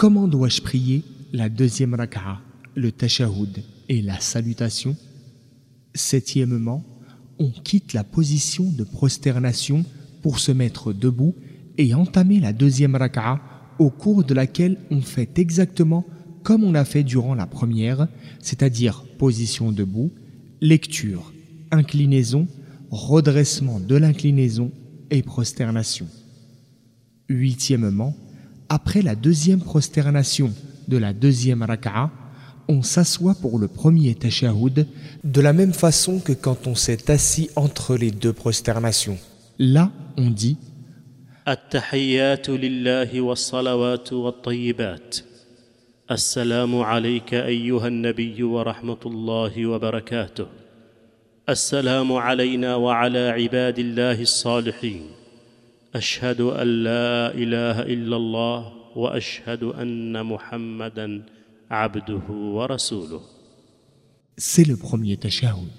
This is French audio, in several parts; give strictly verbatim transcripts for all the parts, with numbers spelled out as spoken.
Comment dois-je prier la deuxième raka'a, le tashahhud et la salutation? Septièmement, on quitte la position de prosternation pour se mettre debout et entamer la deuxième raka'a au cours de laquelle on fait exactement comme on a fait durant la première, c'est-à-dire position debout, lecture, inclinaison, redressement de l'inclinaison et prosternation. Huitièmement, après la deuxième prosternation de la deuxième raka'a, on s'assoit pour le premier tashahhud de la même façon que quand on s'est assis entre les deux prosternations. Là, on dit التحيات لله والصلوات والطيبات السلام عليك أيها النبي ورحمة الله وبركاته السلام علينا وعلى عباد الله الصالحين أشهد أن لا إله إلا الله وأشهد أن محمدًا عبده ورسوله. C'est le premier tashahhud.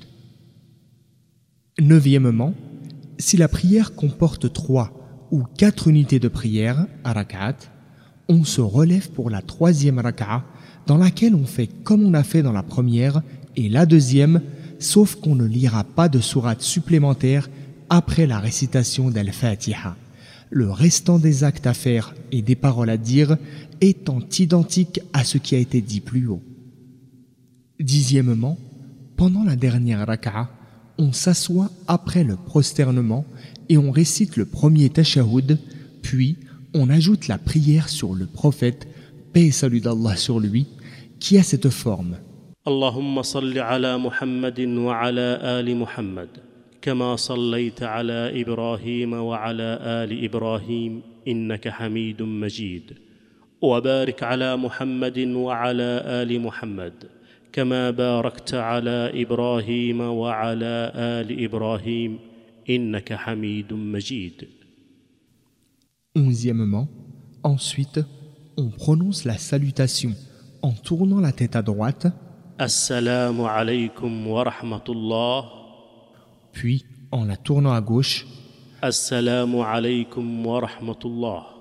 Neuvièmement, si la prière comporte trois ou quatre unités de prière à rak'at, on se relève pour la troisième raka'a dans laquelle on fait comme on a fait dans la première et la deuxième, sauf qu'on ne lira pas de sourate supplémentaire après la récitation d'Al-Fatiha. Le restant des actes à faire et des paroles à dire étant identiques à ce qui a été dit plus haut. Dixièmement, pendant la dernière raka'a, on s'assoit après le prosternement et on récite le premier tashahhud, puis on ajoute la prière sur le prophète, paix et salut d'Allah sur lui, qui a cette forme. Allahumma salli ala Muhammadin wa ala ali Muhammad, kama sallaita ala Ibrahim wa ala ali Ibrahim, innaka hamidun majid. Wa barik ala Muhammadin wa ala ali Muhammad, كما باركت على إبراهيم وعلى آل إبراهيم إنك حميد مجيد. Onzièmement, ensuite, on prononce la salutation en tournant la tête à droite. Assalamu alaykum wa rahmatullah. Puis, en la tournant à gauche. Assalamu alaykum wa rahmatullah.